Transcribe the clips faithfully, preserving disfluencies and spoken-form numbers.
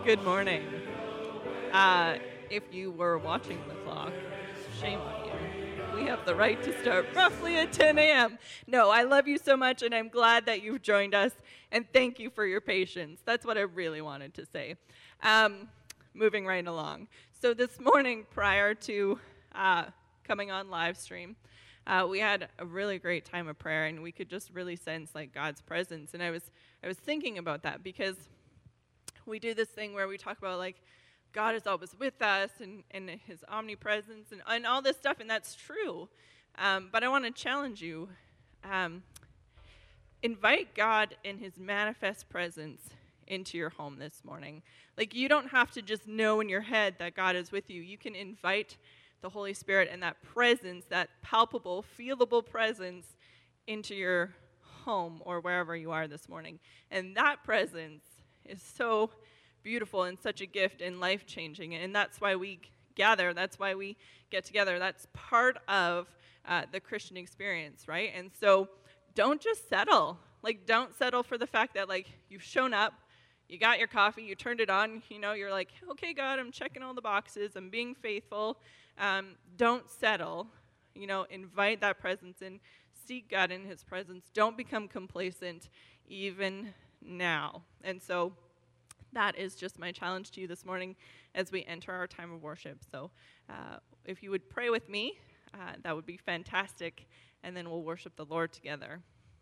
Good morning. Uh, if you were watching the clock, shame on you. We have the right to start roughly at ten a.m. No, I love you so much, and I'm glad that you've joined us, and thank you for your patience. That's what I really wanted to say. Um, moving right along. So this morning, prior to uh, coming on live stream, uh, we had a really great time of prayer, and we could just really sense like God's presence. And I was I was thinking about that because we do this thing where we talk about like God is always with us and, and his omnipresence and, and all this stuff, and that's true. Um, but I want to challenge you. Um, invite God in his manifest presence into your home this morning. Like, you don't have to just know in your head that God is with you. You can invite the Holy Spirit and that presence, that palpable, feelable presence into your home or wherever you are this morning. And that presence is so beautiful and such a gift and life-changing, and that's why we gather. That's why we get together. That's part of uh, the Christian experience, right? And so don't just settle. Like, don't settle for the fact that, like, you've shown up, you got your coffee, you turned it on, you know, you're like, okay, God, I'm checking all the boxes, I'm being faithful. Um, don't settle. You know, invite that presence in. Seek God in his presence. Don't become complacent even now. And so that is just my challenge to you this morning as we enter our time of worship. So uh, if you would pray with me, uh, that would be fantastic, and then we'll worship the Lord together.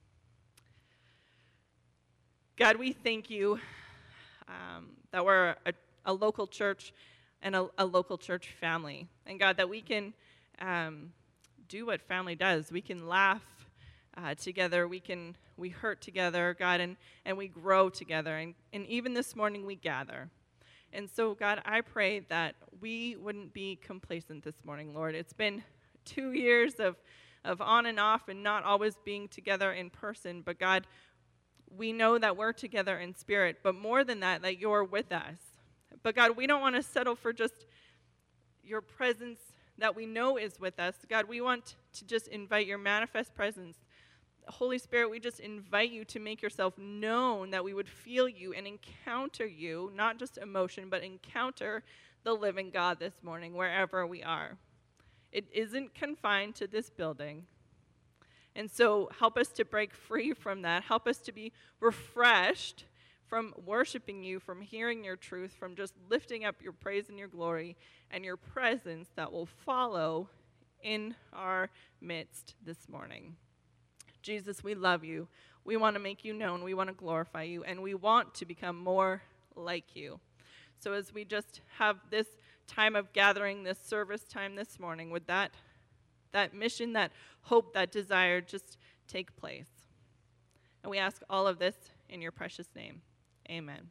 God, we thank you um, that we're a, a local church and a, a local church family. And God, that we can um, do what family does. We can laugh Uh, together, we can we hurt together, God, and, and we grow together, and, and even this morning we gather. And so, God, I pray that we wouldn't be complacent this morning, Lord. It's been two years of, of on and off and not always being together in person, but God, we know that we're together in spirit, but more than that, that you're with us. But God, we don't want to settle for just your presence that we know is with us. God, we want to just invite your manifest presence. Holy Spirit, we just invite you to make yourself known, that we would feel you and encounter you, not just emotion, but encounter the living God this morning, wherever we are. It isn't confined to this building. And so help us to break free from that. Help us to be refreshed from worshiping you, from hearing your truth, from just lifting up your praise and your glory and your presence that will follow in our midst this morning. Jesus, we love you. We want to make you known. We want to glorify you, and we want to become more like you. So as we just have this time of gathering, this service time this morning, would that, that mission, that hope, that desire just take place? And we ask all of this in your precious name. Amen.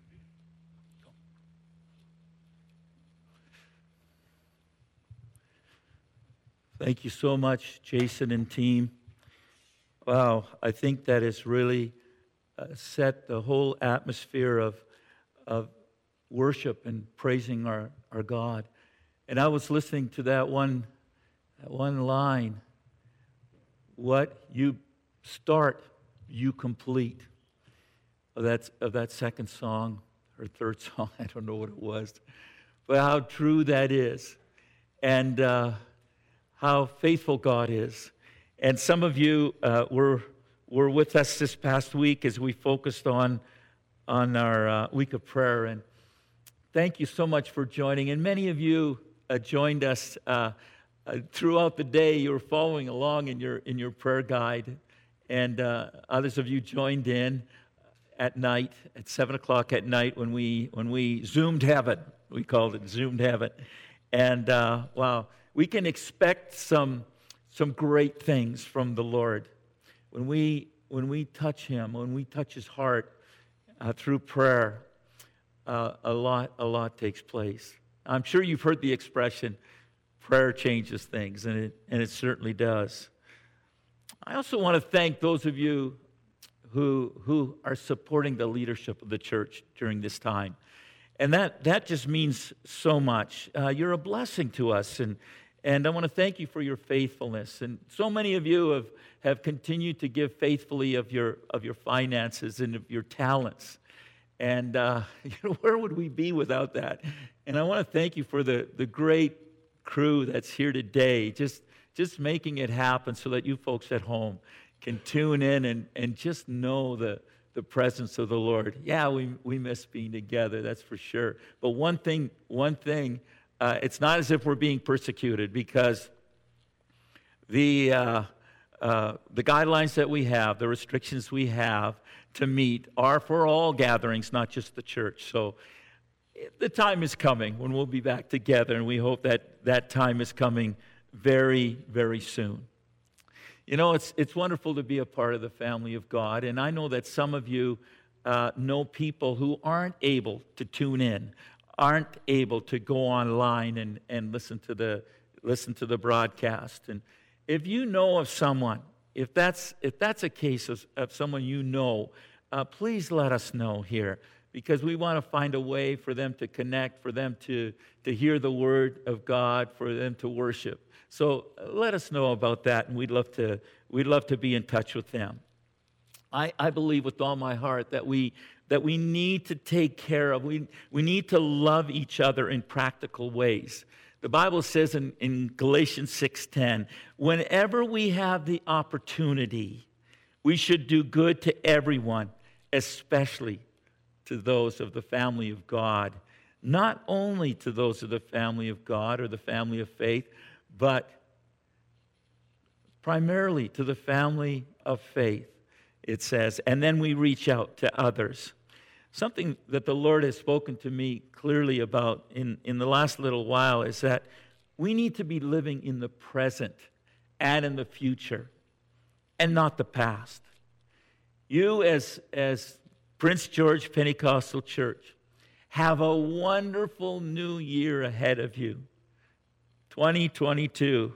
Thank you so much, Jason and team. Wow, I think that has really uh, set the whole atmosphere of, of worship and praising our, our God. And I was listening to that one, that one line, what you start, you complete, of that, of that second song, or third song, I don't know what it was, but how true that is, and uh, how faithful God is. And some of you uh, were were with us this past week as we focused on on our uh, week of prayer. And thank you so much for joining. And many of you uh, joined us uh, uh, throughout the day. You were following along in your in your prayer guide, and uh, others of you joined in at night at seven o'clock at night when we when we zoomed heaven. We called it zoomed heaven. And uh, wow, we can expect some. Some great things from the Lord. When we when we touch him, when we touch his heart uh, through prayer, uh, a lot a lot takes place. I'm sure you've heard the expression, prayer changes things, and it and it certainly does. I also want to thank those of you who who are supporting the leadership of the church during this time. And that that just means so much. Uh, you're a blessing to us, and And I want to thank you for your faithfulness. And so many of you have, have continued to give faithfully of your of your finances and of your talents. And uh, you know, where would we be without that? And I want to thank you for the, the great crew that's here today, just, just making it happen so that you folks at home can tune in and, and just know the, the presence of the Lord. Yeah, we, we miss being together, that's for sure. But one thing, one thing, uh, it's not as if we're being persecuted, because the, uh, uh, the guidelines that we have, the restrictions we have to meet are for all gatherings, not just the church. So the time is coming when we'll be back together, and we hope that that time is coming very, very soon. You know, it's it's wonderful to be a part of the family of God, and I know that some of you uh, know people who aren't able to tune in, aren't able to go online and, and listen to the listen to the broadcast. And if you know of someone, if that's if that's a case of, of someone you know, uh, please let us know here, because we want to find a way for them to connect, for them to, to hear the word of God, for them to worship. So uh, let us know about that, and we'd love to we'd love to be in touch with them. I, I believe with all my heart that we that we need to take care of, we, we need to love each other in practical ways. The Bible says in, in Galatians six ten, whenever we have the opportunity, we should do good to everyone, especially to those of the family of God. Not only to those of the family of God or the family of faith, but primarily to the family of faith, it says. And then we reach out to others. Something that the Lord has spoken to me clearly about in, in the last little while is that we need to be living in the present and in the future and not the past. You as, as Prince George Pentecostal Church have a wonderful new year ahead of you, twenty twenty-two.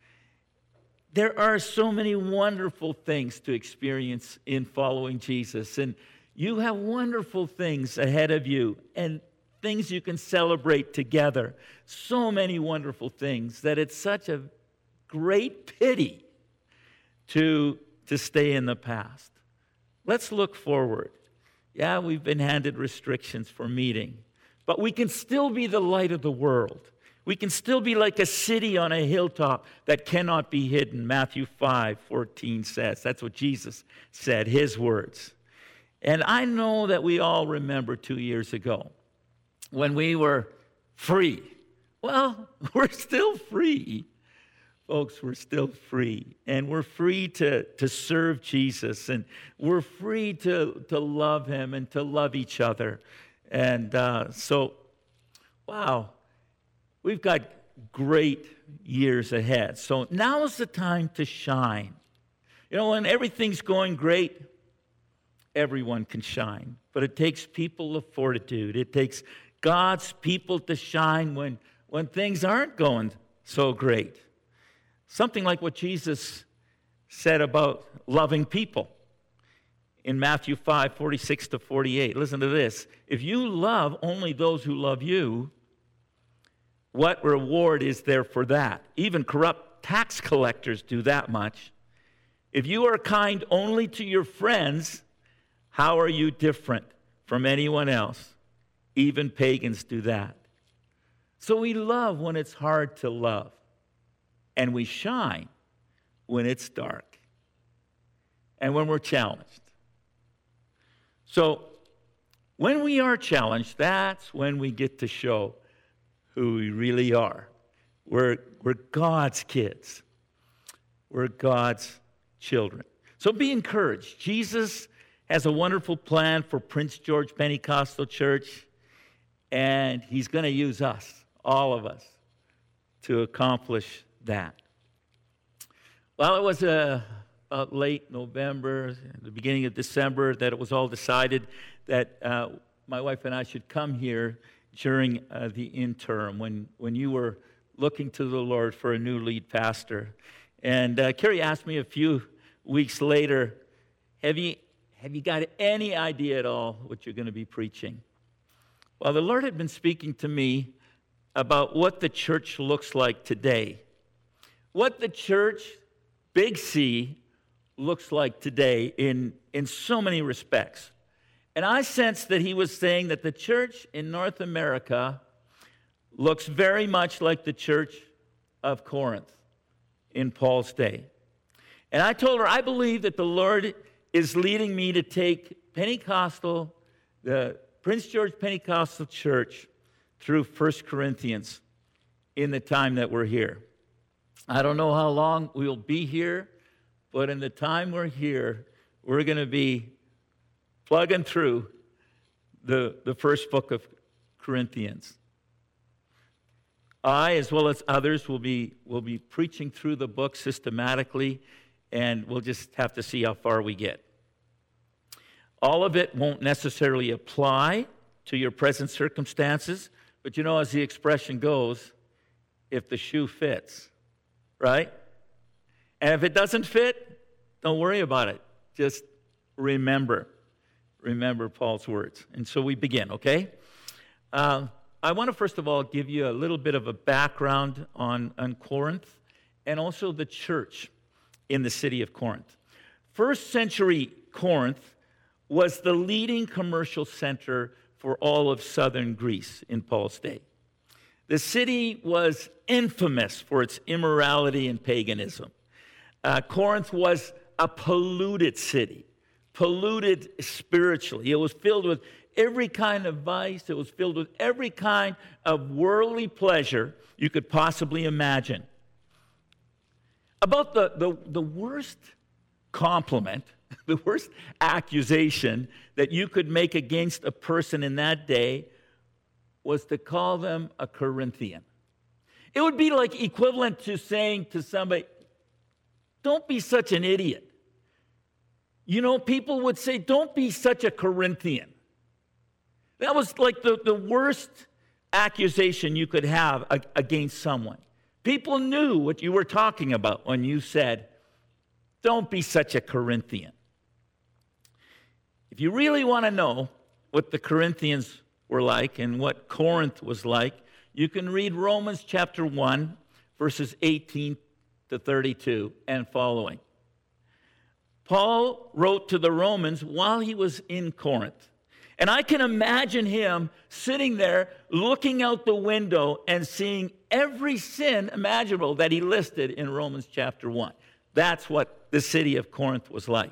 There are so many wonderful things to experience in following Jesus, and you have wonderful things ahead of you and things you can celebrate together. So many wonderful things that it's such a great pity to, to stay in the past. Let's look forward. Yeah, we've been handed restrictions for meeting, but we can still be the light of the world. We can still be like a city on a hilltop that cannot be hidden. Matthew five fourteen says. That's what Jesus said, his words. And I know that we all remember two years ago when we were free. Well, we're still free. Folks, we're still free. And we're free to, to serve Jesus. And we're free to, to love him and to love each other. And uh, so, wow, we've got great years ahead. So now's the time to shine. You know, when everything's going great, everyone can shine. But it takes people of fortitude. It takes God's people to shine when, when things aren't going so great. Something like what Jesus said about loving people in Matthew five forty-six to forty-eight. Listen to this. If you love only those who love you, what reward is there for that? Even corrupt tax collectors do that much. If you are kind only to your friends, how are you different from anyone else? Even pagans do that. So we love when it's hard to love, and we shine when it's dark and when we're challenged. So when we are challenged, that's when we get to show who we really are. We're, we're God's kids. We're God's children. So be encouraged. Jesus has a wonderful plan for Prince George Pentecostal Church, and he's going to use us, all of us, to accomplish that. Well, it was uh, about late November, the beginning of December, that it was all decided that uh, my wife and I should come here during uh, the interim when, when you were looking to the Lord for a new lead pastor. And uh, Carrie asked me a few weeks later, have you, have you got any idea at all what you're going to be preaching? Well, the Lord had been speaking to me about what the church looks like today. What the church, Big C, looks like today in, in so many respects. And I sense that he was saying that the church in North America looks very much like the church of Corinth in Paul's day. And I told her, I believe that the Lord is leading me to take Pentecostal, the Prince George Pentecostal Church, through First Corinthians in the time that we're here. I don't know how long we'll be here, but in the time we're here, we're going to be plugging through the, the first book of Corinthians. I, as well as others, will be, will be preaching through the book systematically, and we'll just have to see how far we get. All of it won't necessarily apply to your present circumstances, but you know, as the expression goes, if the shoe fits, right? And if it doesn't fit, don't worry about it. Just remember. Remember Paul's words. And so we begin, okay? Uh, I want to first of all give you a little bit of a background on, on Corinth and also the church in the city of Corinth. First century Corinth was the leading commercial center for all of southern Greece in Paul's day. The city was infamous for its immorality and paganism. Uh, Corinth was a polluted city, polluted spiritually. It was filled with every kind of vice. It was filled with every kind of worldly pleasure you could possibly imagine. About the, the, the worst compliment, the worst accusation that you could make against a person in that day was to call them a Corinthian. It would be like equivalent to saying to somebody, don't be such an idiot. You know, people would say, don't be such a Corinthian. That was like the, the worst accusation you could have against someone. People knew what you were talking about when you said, don't be such a Corinthian. If you really want to know what the Corinthians were like and what Corinth was like, you can read Romans chapter one, verses eighteen to thirty-two and following. Paul wrote to the Romans while he was in Corinth. And I can imagine him sitting there looking out the window and seeing every sin imaginable that he listed in Romans chapter one. That's what the city of Corinth was like.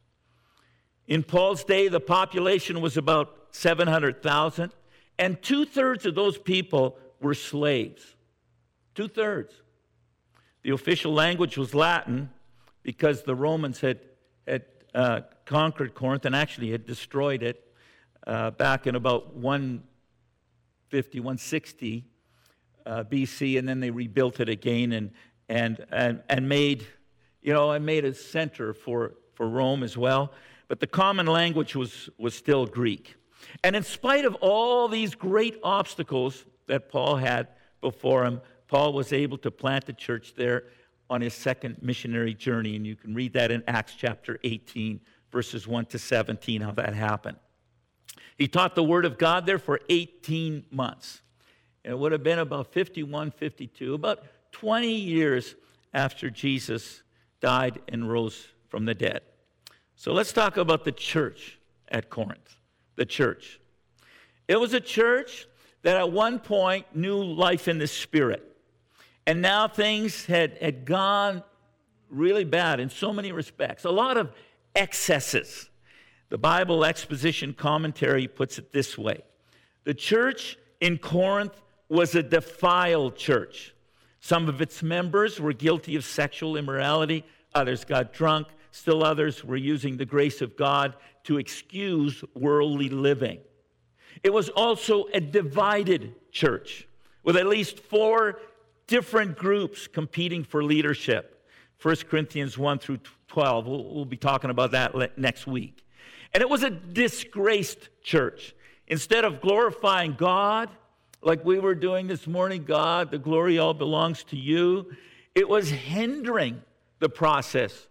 In Paul's day, the population was about seven hundred thousand, and two-thirds of those people were slaves. Two-thirds. The official language was Latin because the Romans had, had uh, conquered Corinth and actually had destroyed it uh, back in about one fifty, one sixty uh, B C, and then they rebuilt it again and and and, and made, you know, and made a center for, for Rome as well. But the common language was, was still Greek. And in spite of all these great obstacles that Paul had before him, Paul was able to plant the church there on his second missionary journey. And you can read that in Acts chapter eighteen, verses one to seventeen, how that happened. He taught the word of God there for eighteen months. And it would have been about fifty-one, fifty-two, about twenty years after Jesus died and rose from the dead. So let's talk about the church at Corinth. The church. It was a church that at one point knew life in the Spirit. And now things had, had gone really bad in so many respects. A lot of excesses. The Bible Exposition Commentary puts it this way. The church in Corinth was a defiled church. Some of its members were guilty of sexual immorality. Others got drunk. Still others were using the grace of God to excuse worldly living. It was also a divided church with at least four different groups competing for leadership. First Corinthians one through twelve. We'll, we'll be talking about that next week. And it was a disgraced church. Instead of glorifying God, like we were doing this morning, God, the glory all belongs to you, it was hindering the process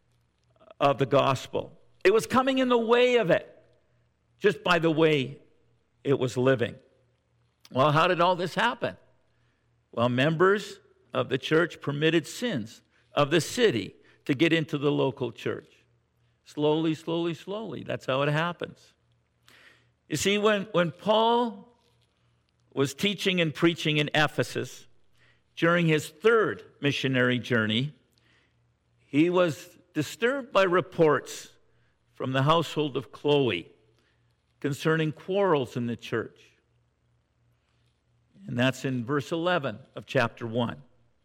of the gospel. It was coming in the way of it, just by the way it was living. Well, how did all this happen? Well, members of the church permitted sins of the city to get into the local church. Slowly, slowly, slowly. That's how it happens. You see, when, when Paul was teaching and preaching in Ephesus during his third missionary journey, he was disturbed by reports from the household of Chloe concerning quarrels in the church. And that's in verse eleven of chapter one.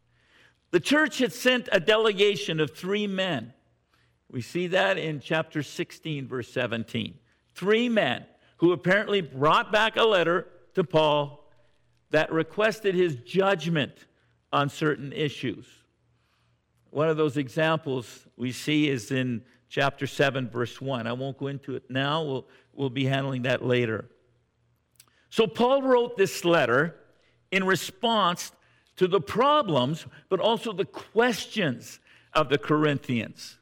The church had sent a delegation of three men. We see that in chapter sixteen, verse seventeen. Three men who apparently brought back a letter to Paul that requested his judgment on certain issues. One of those examples we see is in chapter seven, verse one. I won't go into it now. We'll, we'll be handling that later. So Paul wrote this letter in response to the problems, but also the questions of the Corinthians.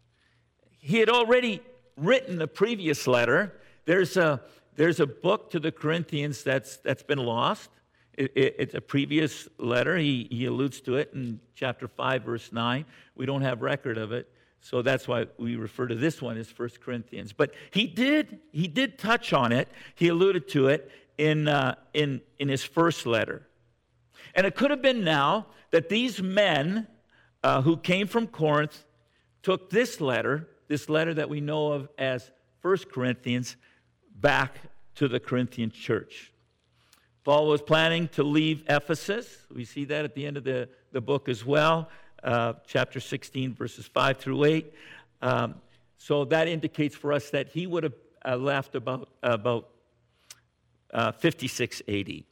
He had already written a previous letter. There's a, there's a book to the Corinthians that's, that's been lost. It, it, it's a previous letter. He, he alludes to it in chapter five, verse nine. We don't have record of it, so that's why we refer to this one as First Corinthians. But he did, he did touch on it. He alluded to it in, uh, in, in his first letter. And it could have been now that these men uh, who came from Corinth took this letter, this letter that we know of as First Corinthians, back to the Corinthian church. Paul was planning to leave Ephesus. We see that at the end of the, the book as well, uh, chapter sixteen, verses five through eight. Um, so that indicates for us that he would have uh, left about, about uh, fifty-six A D.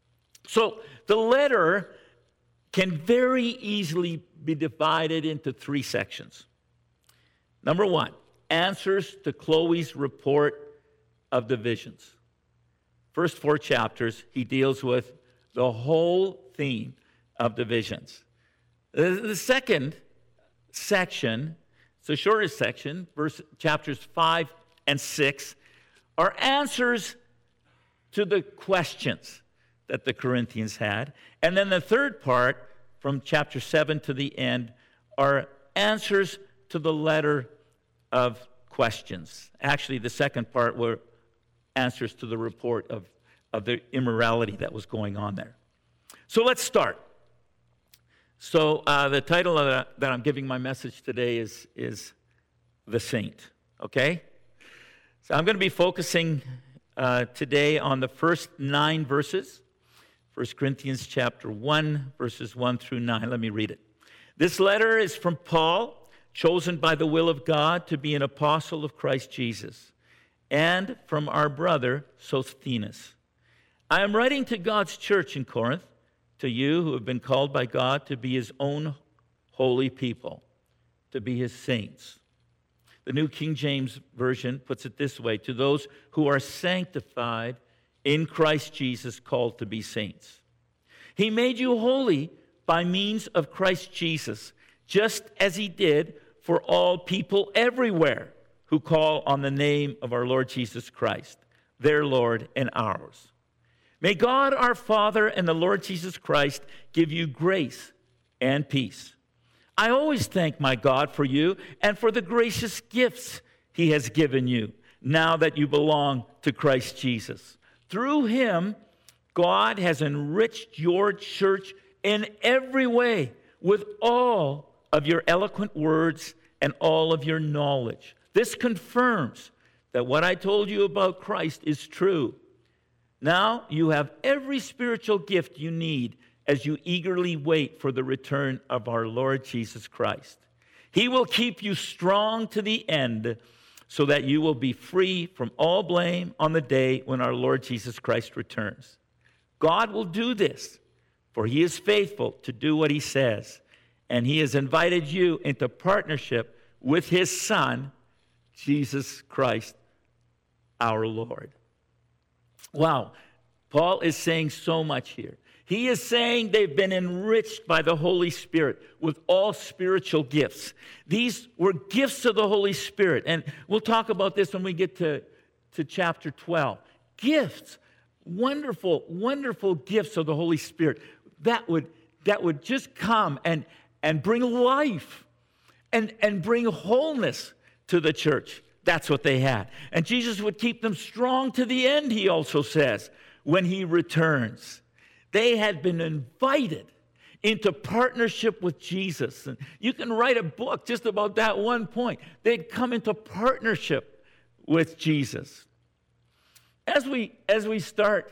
So the letter can very easily be divided into three sections. Number one, answers to Chloe's report of the visions. First four chapters, he deals with the whole theme of the visions. The second section, it's the shortest section, verse, chapters five and six, are answers to the questions that the Corinthians had. And then the third part, from chapter seven to the end, are answers to the letter of questions. Actually, the second part were answers to the report of, of the immorality that was going on there. So let's start. So uh, the title of the, that I'm giving my message today is, is The Saint, okay? So I'm going to be focusing uh, today on the first nine verses. First Corinthians chapter one, verses one through nine. Let me read it. This letter is from Paul, chosen by the will of God to be an apostle of Christ Jesus, and from our brother Sosthenes. I am writing to God's church in Corinth, to you who have been called by God to be his own holy people, to be his saints. The New King James Version puts it this way: to those who are sanctified in Christ Jesus, called to be saints. He made you holy by means of Christ Jesus, just as he did for all people everywhere who call on the name of our Lord Jesus Christ, their Lord and ours. May God our Father and the Lord Jesus Christ give you grace and peace. I always thank my God for you and for the gracious gifts he has given you now that you belong to Christ Jesus. Through him, God has enriched your church in every way with all of your eloquent words and all of your knowledge. This confirms that what I told you about Christ is true. Now you have every spiritual gift you need as you eagerly wait for the return of our Lord Jesus Christ. He will keep you strong to the end so that you will be free from all blame on the day when our Lord Jesus Christ returns. God will do this, for he is faithful to do what he says, and he has invited you into partnership with his Son, Jesus Christ, our Lord. Wow, Paul is saying so much here. He is saying they've been enriched by the Holy Spirit with all spiritual gifts. These were gifts of the Holy Spirit. And we'll talk about this when we get to, to chapter twelve. Gifts, wonderful, wonderful gifts of the Holy Spirit that would, that would just come and, and bring life and, and bring wholeness to the church. That's what they had. And Jesus would keep them strong to the end, he also says, when he returns. They had been invited into partnership with Jesus. And you can write a book just about that one point. They'd come into partnership with Jesus. As we, as we start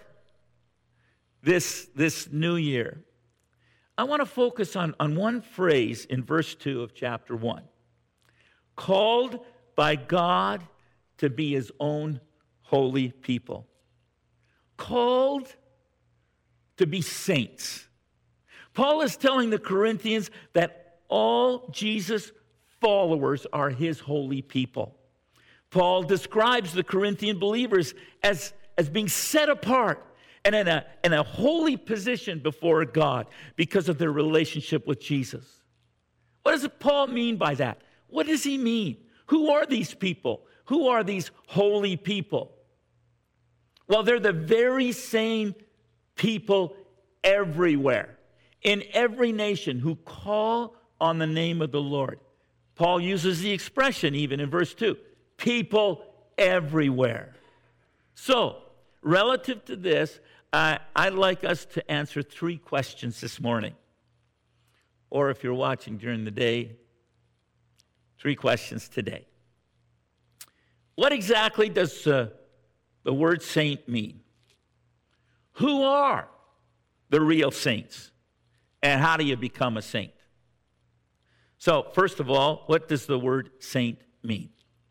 this, this new year, I want to focus on, on one phrase in verse two of chapter one. Called by God to be his own holy people. Called to be saints. Paul is telling the Corinthians that all Jesus' followers are his holy people. Paul describes the Corinthian believers as, as being set apart and in a, in a holy position before God because of their relationship with Jesus. What does Paul mean by that? What does he mean? Who are these people? Who are these holy people? Well, they're the very same people everywhere, in every nation, who call on the name of the Lord. Paul uses the expression even in verse two, people everywhere. So, relative to this, uh, I'd like us to answer three questions this morning. Or if you're watching during the day, three questions today. What exactly does uh, the word saint mean? Who are the real saints? And how do you become a saint? So, first of all, what does the word saint mean?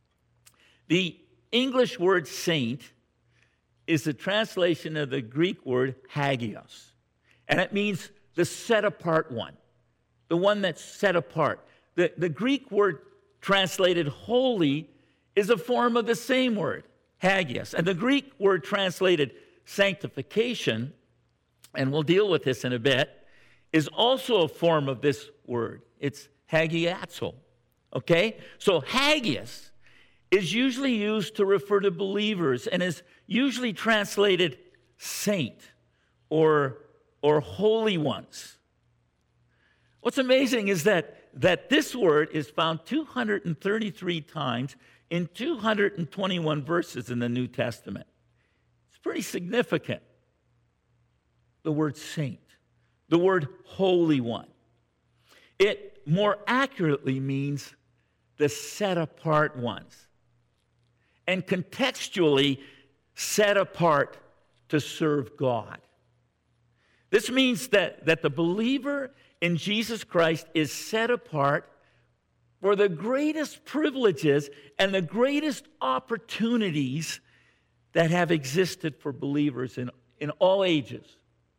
The English word saint is a translation of the Greek word hagios. And it means the set-apart one, the one that's set apart. The, the Greek word translated holy is a form of the same word, hagios. And the Greek word translated sanctification, and we'll deal with this in a bit, is also a form of this word. It's hagiazo, okay? So hagios is usually used to refer to believers and is usually translated saint or, or holy ones. What's amazing is that, that this word is found two hundred thirty-three times in two hundred twenty-one verses in the New Testament. It's pretty significant. The word saint, the word holy one. It more accurately means the set-apart ones. And contextually, set apart to serve God. This means that, that the believer in Jesus Christ is set apart for the greatest privileges and the greatest opportunities that have existed for believers in, in all ages.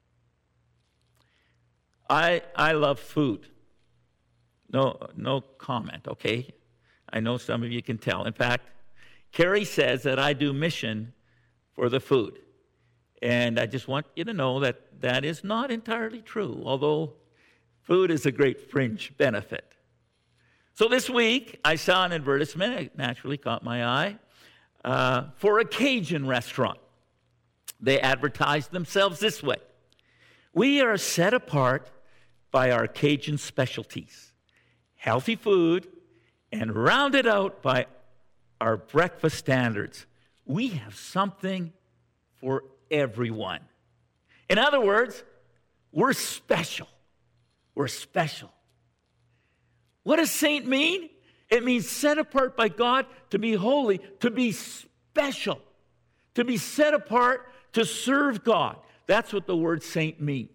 I, I love food. No, no comment, okay? I know some of you can tell. In fact, Carrie says that I do mission for the food. And I just want you to know that that is not entirely true, although food is a great fringe benefit. So this week, I saw an advertisement, it naturally caught my eye, uh, for a Cajun restaurant. They advertised themselves this way. We are set apart by our Cajun specialties, healthy food, and rounded out by our breakfast standards. We have something for everyone. In other words, we're special. We're special. What does saint mean? It means set apart by God to be holy, to be special, to be set apart to serve God. That's what the word saint means.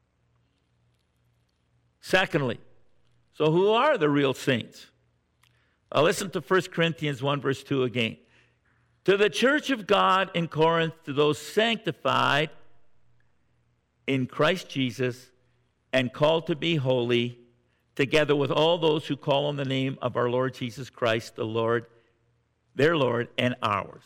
Secondly, so who are the real saints? Well, listen to First Corinthians one, verse two again. To the church of God in Corinth, to those sanctified in Christ Jesus and called to be holy, together with all those who call on the name of our Lord Jesus Christ, the Lord, their Lord, and ours.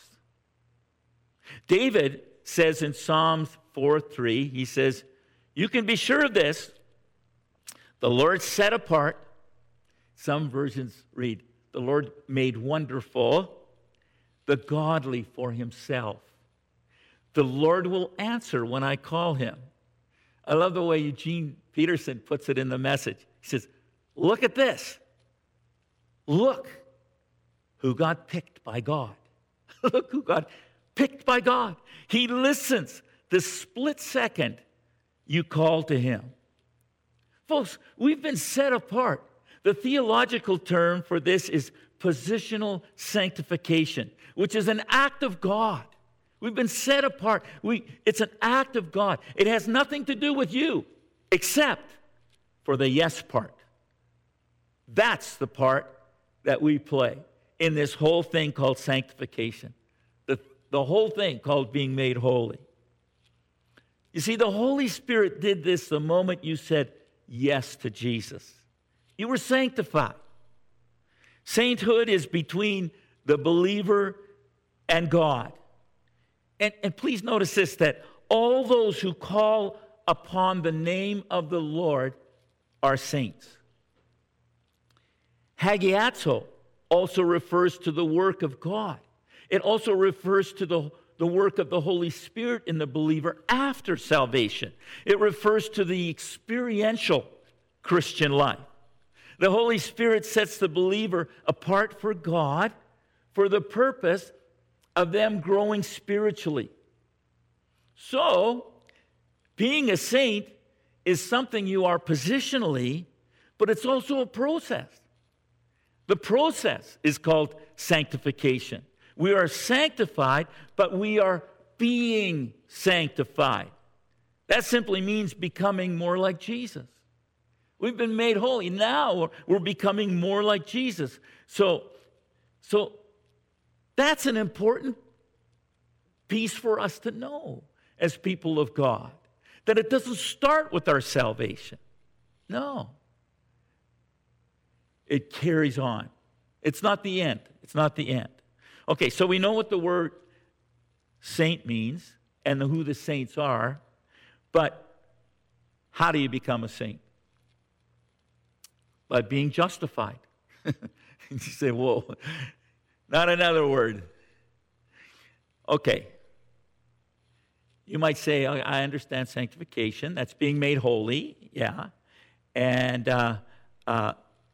David says in Psalms four three, he says, you can be sure of this, the Lord set apart. Some versions read, the Lord made wonderful the godly for himself. The Lord will answer when I call him. I love the way Eugene Peterson puts it in the Message. He says, look at this. Look. who got picked by God. Look who got picked by God. He listens the split second you call to him. Folks, we've been set apart. The theological term for this is positional sanctification, which is an act of God. We've been set apart. We, it's an act of God. It has nothing to do with you except for the yes part. That's the part that we play in this whole thing called sanctification. The, the whole thing called being made holy. You see, the Holy Spirit did this the moment you said yes to Jesus. You were sanctified. Sainthood is between the believer and God. And, and please notice this, that all those who call upon the name of the Lord are saints. Hagiazo also refers to the work of God. It also refers to the, the work of the Holy Spirit in the believer after salvation. It refers to the experiential Christian life. The Holy Spirit sets the believer apart for God for the purpose of them growing spiritually. So, being a saint is something you are positionally, but it's also a process. The process is called sanctification. We are sanctified, but we are being sanctified. That simply means becoming more like Jesus. We've been made holy. Now we're becoming more like Jesus. So, so that's an important piece for us to know as people of God. That it doesn't start with our salvation. No. It carries on. It's not the end. It's not the end. Okay, so we know what the word saint means and who the saints are, but how do you become a saint? By being justified. You say, whoa, not another word. Okay. You might say, I understand sanctification. That's being made holy, yeah. And uh, uh,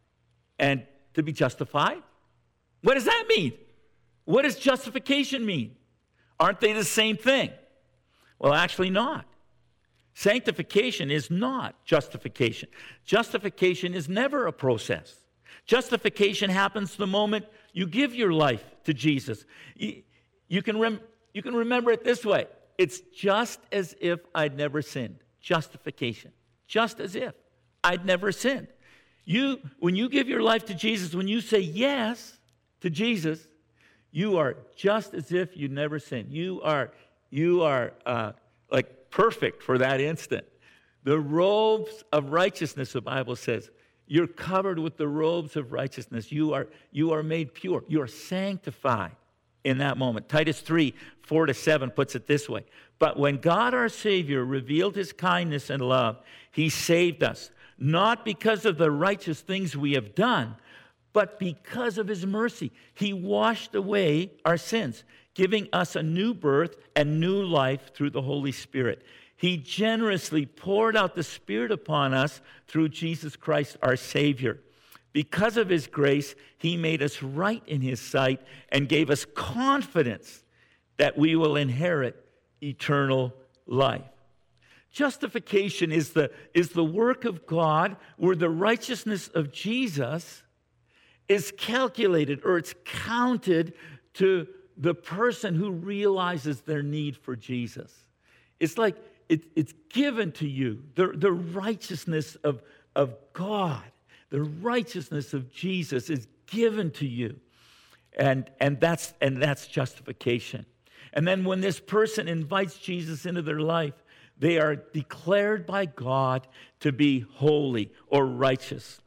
and to be justified. What does that mean? What does justification mean? Aren't they the same thing? Well, actually not. Sanctification is not justification. Justification is never a process. Justification happens the moment you give your life to Jesus. You, you, can, rem, you can remember it this way. It's just as if I'd never sinned. Justification. Just as if I'd never sinned. You, when you give your life to Jesus, when you say yes to Jesus, you are just as if you never sinned. You are, you are uh, like perfect for that instant. The robes of righteousness, the Bible says, you're covered with the robes of righteousness. You are, you are made pure. You are sanctified in that moment. Titus three, four to seven puts it this way. But when God our Savior revealed his kindness and love, he saved us, not because of the righteous things we have done, but because of his mercy. He washed away our sins, giving us a new birth and new life through the Holy Spirit. He generously poured out the Spirit upon us through Jesus Christ our Savior. Because of his grace, he made us right in his sight and gave us confidence that we will inherit eternal life. Justification is the, is the work of God where the righteousness of Jesus is calculated or it's counted to the person who realizes their need for Jesus. It's like it, it's given to you, the, the righteousness of, of God. The righteousness of Jesus is given to you. And, and, that's, and that's justification. And then when this person invites Jesus into their life, they are declared by God to be holy or righteous.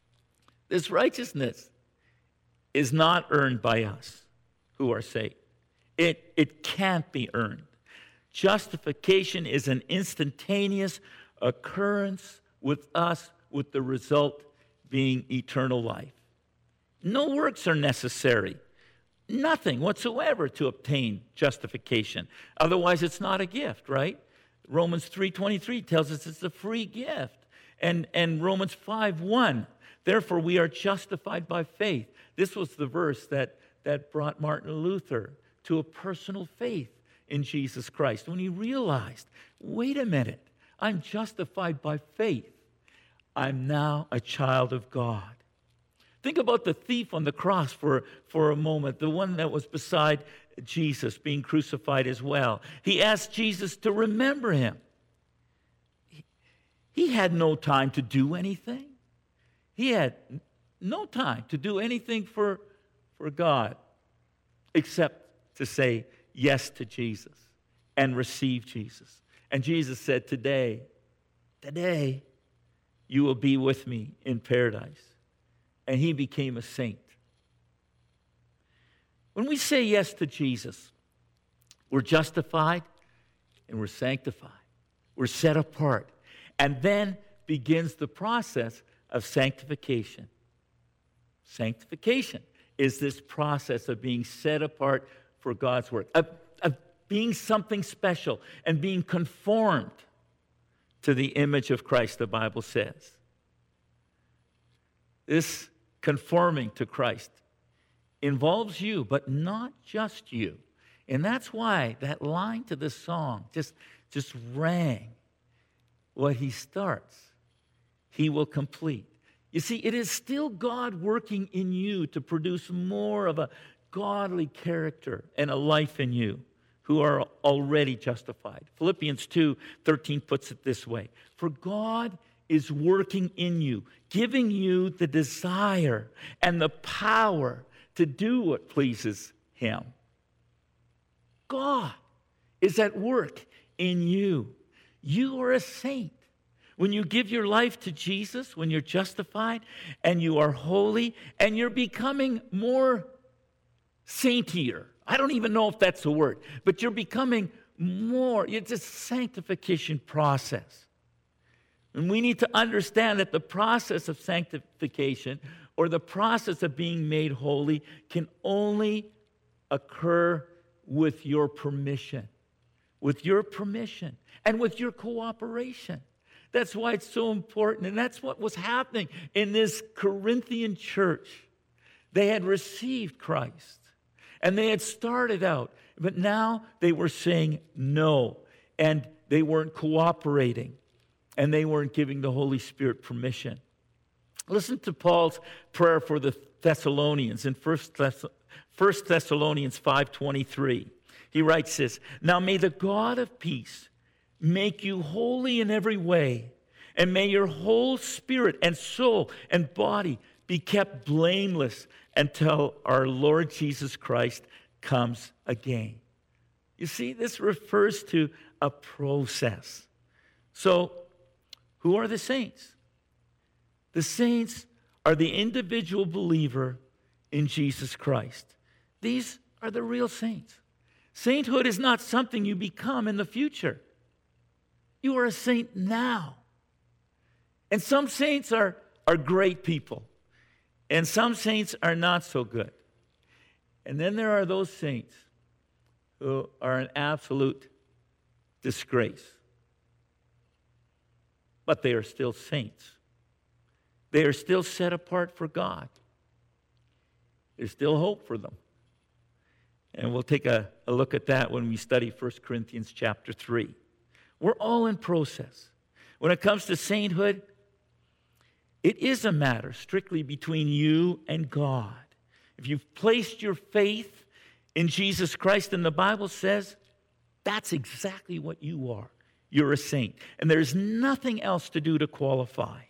This righteousness is not earned by us who are saved. It, it can't be earned. Justification is an instantaneous occurrence with us, with the result being eternal life. No works are necessary. Nothing whatsoever to obtain justification. Otherwise, it's not a gift, right? Romans three twenty-three tells us it's a free gift. And, and Romans five one, therefore we are justified by faith. This was the verse that, that brought Martin Luther to a personal faith in Jesus Christ, when he realized, wait a minute, I'm justified by faith. I'm now a child of God. Think about the thief on the cross for, for a moment, the one that was beside Jesus being crucified as well. He asked Jesus to remember him. He, he had no time to do anything. He had no time to do anything for, for God except to say yes to Jesus and receive Jesus. And Jesus said, today, today, you will be with me in paradise. And he became a saint. When we say yes to Jesus, we're justified and we're sanctified. We're set apart. And then begins the process of sanctification. Sanctification is this process of being set apart for God's work, of, of being something special and being conformed to the image of Christ, the Bible says. This conforming to Christ involves you, but not just you. And that's why that line to this song just, just rang. What he starts, he will complete. You see, it is still God working in you to produce more of a godly character and a life in you who are already justified. Philippians two thirteen puts it this way: for God is working in you, giving you the desire and the power to do what pleases him. God is at work in you. You are a saint. When you give your life to Jesus, when you're justified and you are holy and you're becoming more saintier. I don't even know if that's a word, but you're becoming more. It's a sanctification process. And we need to understand that the process of sanctification or the process of being made holy can only occur with your permission, with your permission and with your cooperation. That's why it's so important. And that's what was happening in this Corinthian church. They had received Christ and they had started out, but now they were saying no, and they weren't cooperating. And they weren't giving the Holy Spirit permission. Listen to Paul's prayer for the Thessalonians in First Thessalonians five twenty-three. He writes this: now may the God of peace make you holy in every way, and may your whole spirit and soul and body be kept blameless until our Lord Jesus Christ comes again. You see, this refers to a process. So, who are the saints? The saints are the individual believer in Jesus Christ. These are the real saints. Sainthood is not something you become in the future. You are a saint now. And some saints are, are great people. And some saints are not so good. And then there are those saints who are an absolute disgrace. But they are still saints. They are still set apart for God. There's still hope for them. And we'll take a, a look at that when we study First Corinthians chapter three. We're all in process. When it comes to sainthood, it is a matter strictly between you and God. If you've placed your faith in Jesus Christ, and the Bible says that's exactly what you are. You're a saint. And there's nothing else to do to qualify.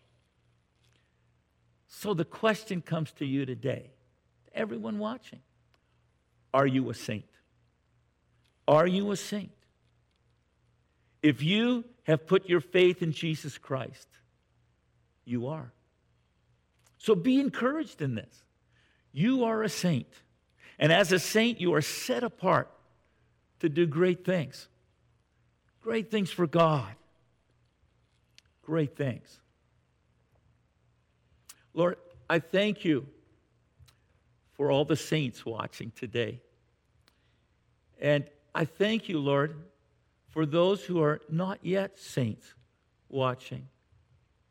So the question comes to you today, to everyone watching. Are you a saint? Are you a saint? If you have put your faith in Jesus Christ, you are. So be encouraged in this. You are a saint. And as a saint, you are set apart to do great things. Great things for God. Great things. Lord, I thank you for all the saints watching today. And I thank you, Lord, for those who are not yet saints watching.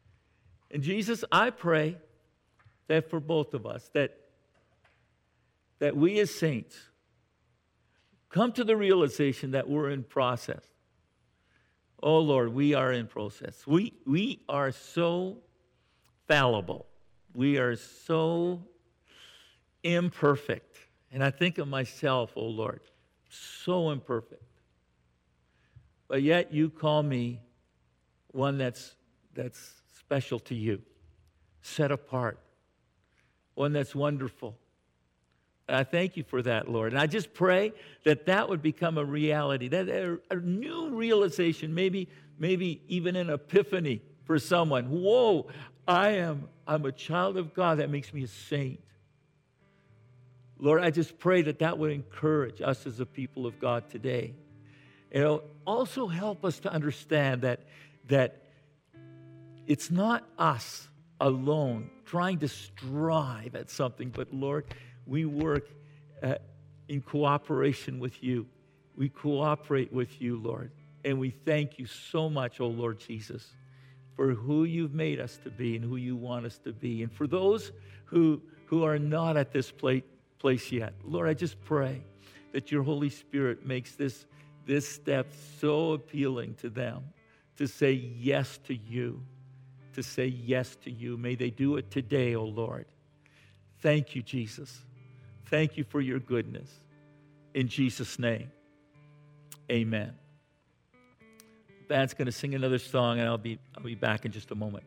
And Jesus, I pray that for both of us, that, that we as saints come to the realization that we're in process. Oh, Lord, we are in process. We, we are so fallible. We are so imperfect. And I think of myself, oh, Lord, so imperfect. But yet you call me one that's, that's special to you, set apart, one that's wonderful. And I thank you for that, Lord. And I just pray that that would become a reality, that a, a new realization, maybe, maybe even an epiphany for someone. Whoa, I am I'm a child of God. That makes me a saint. Lord, I just pray that that would encourage us as a people of God today. It'll also help us to understand that, that it's not us alone trying to strive at something, but Lord, we work uh, in cooperation with you. We cooperate with you, Lord. And we thank you so much, oh Lord Jesus, for who you've made us to be and who you want us to be. And for those who, who are not at this place, place yet, Lord, I just pray that your Holy Spirit makes this, this step so appealing to them to say yes to you, to say yes to you. May they do it today, oh Lord. Thank you, Jesus. Thank you for your goodness. In Jesus' name, amen. The band's going to sing another song, and I'll be, I'll be back in just a moment.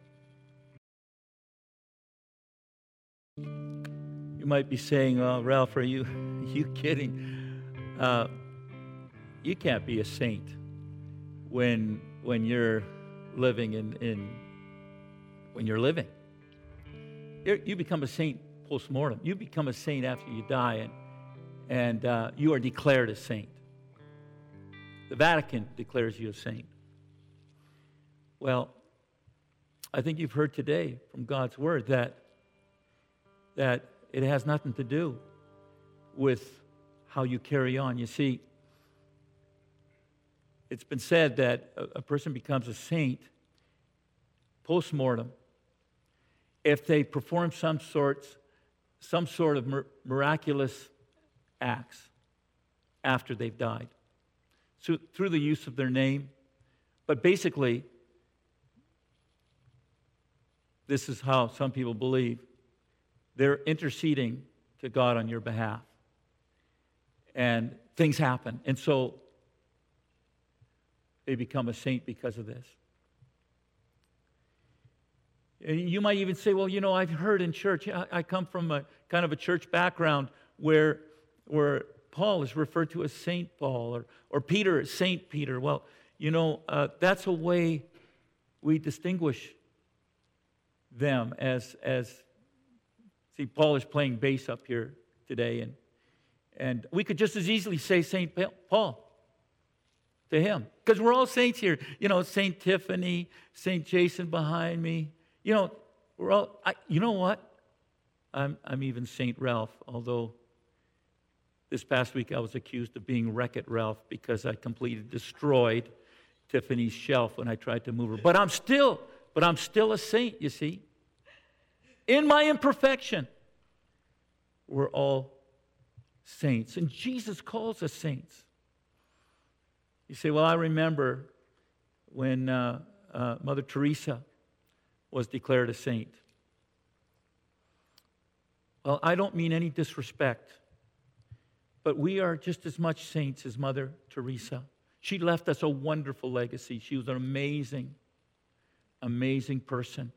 You might be saying, oh, Ralph, are you, are you kidding? Uh, you can't be a saint when, when you're living in, in when you're living. You're, you become a saint post-mortem. You become a saint after you die, and, and uh, you are declared a saint. The Vatican declares you a saint. Well, I think you've heard today from God's word that, that it has nothing to do with how you carry on. You see, it's been said that a, a person becomes a saint post-mortem if they perform some sorts some sort of mir- miraculous acts after they've died. So, through the use of their name. But basically, this is how some people believe. They're interceding to God on your behalf. And things happen. And so, they become a saint because of this. You might even say, well, you know, I've heard in church, I come from a kind of a church background where, where Paul is referred to as Saint Paul, or, or Peter as Saint Peter. Well, you know, uh, that's a way we distinguish them as, as, see, Paul is playing bass up here today, and, and we could just as easily say Saint Paul to him, because we're all saints here. You know, Saint Tiffany, Saint Jason behind me. You know, we're all, I, you know what? I'm, I'm even Saint Ralph, although this past week I was accused of being Wreck-It Ralph because I completely destroyed Tiffany's shelf when I tried to move her. But I'm still, but I'm still a saint, you see. In my imperfection, we're all saints. And Jesus calls us saints. You say, well, I remember when uh, uh, Mother Teresa was declared a saint. Well, I don't mean any disrespect, but we are just as much saints as Mother Teresa. She left us a wonderful legacy. She was an amazing, amazing person.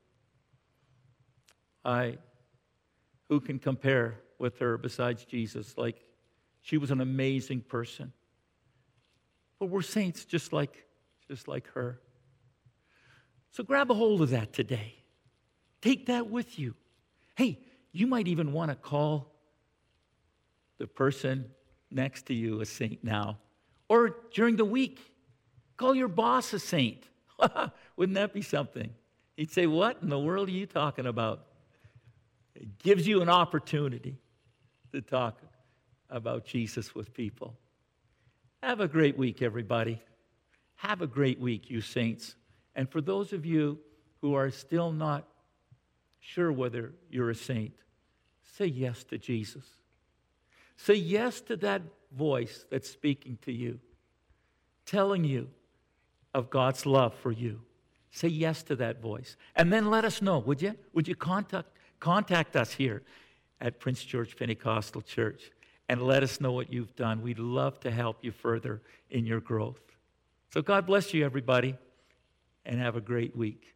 I, who can compare with her besides Jesus? Like, she was an amazing person. But we're saints just like, just like her. So grab a hold of that today. Take that with you. Hey, you might even want to call the person next to you a saint now. Or during the week, call your boss a saint. Wouldn't that be something? He'd say, what in the world are you talking about? It gives you an opportunity to talk about Jesus with people. Have a great week, everybody. Have a great week, you saints. And for those of you who are still not sure whether you're a saint, say yes to Jesus. Say yes to that voice that's speaking to you, telling you of God's love for you. Say yes to that voice. And then let us know, would you? Would you contact, contact us here at Prince George Pentecostal Church and let us know what you've done. We'd love to help you further in your growth. So God bless you, everybody, and have a great week.